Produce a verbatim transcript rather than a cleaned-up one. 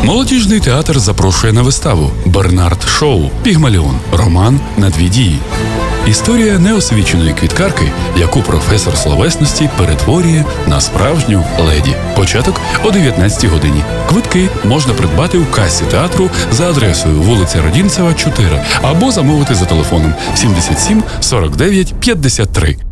Молодіжний театр запрошує на виставу «Бернард Шоу. Пігмаліон. Роман на дві дії». Історія неосвіченої квіткарки, яку професор словесності перетворює на справжню леді. Початок о дев'ятнадцятій годині. Квитки можна придбати у касі театру за адресою вулиця Родінцева, чотири або замовити за телефоном сімдесят сім сорок дев'ять п'ятдесят три.